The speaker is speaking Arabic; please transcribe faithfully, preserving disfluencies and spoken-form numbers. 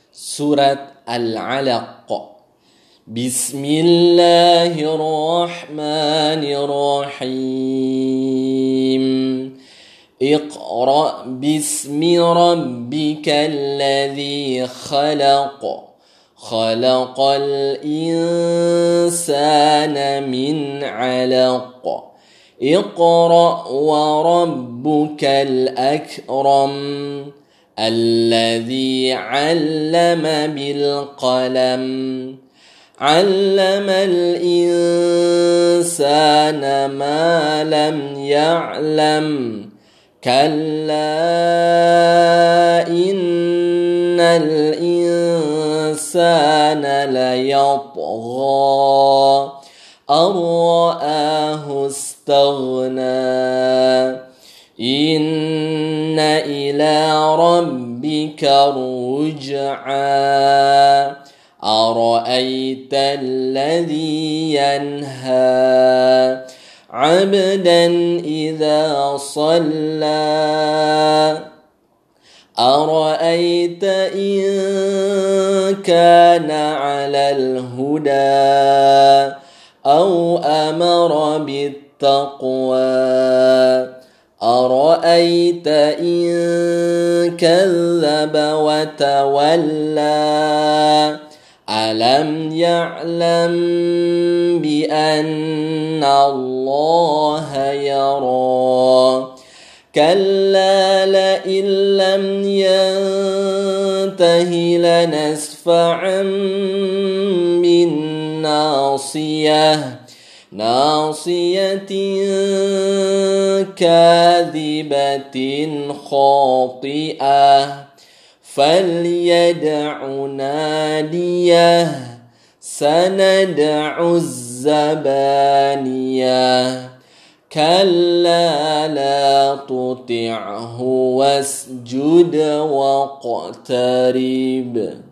Surat Al-Alaq. Bismillahirrahmanirrahim. Iqra' bismi rabbikal ladzi khalaq. Khalaqal insana min 'alaq. Iqra' wa rabbukal akram. الذي علم بالقلم علم الإنسان ما لم يعلم كلا إن الإنسان ليطغى أن رآه استغنى إن إلى ربك الرجعى أرأيت الذي ينهى عبدا إذا صلى أرأيت إن كان على الهدى أو أمر بالتقوى أرأيت إن كذب وتولى ألم يعلم بأن الله يرى كلا لئن لم ينته لنسفعا بالناصية ناصية كاذبة خاطئة فليدع ناديه سندع الزبانية كلا لا تطعه واسجد واقترب.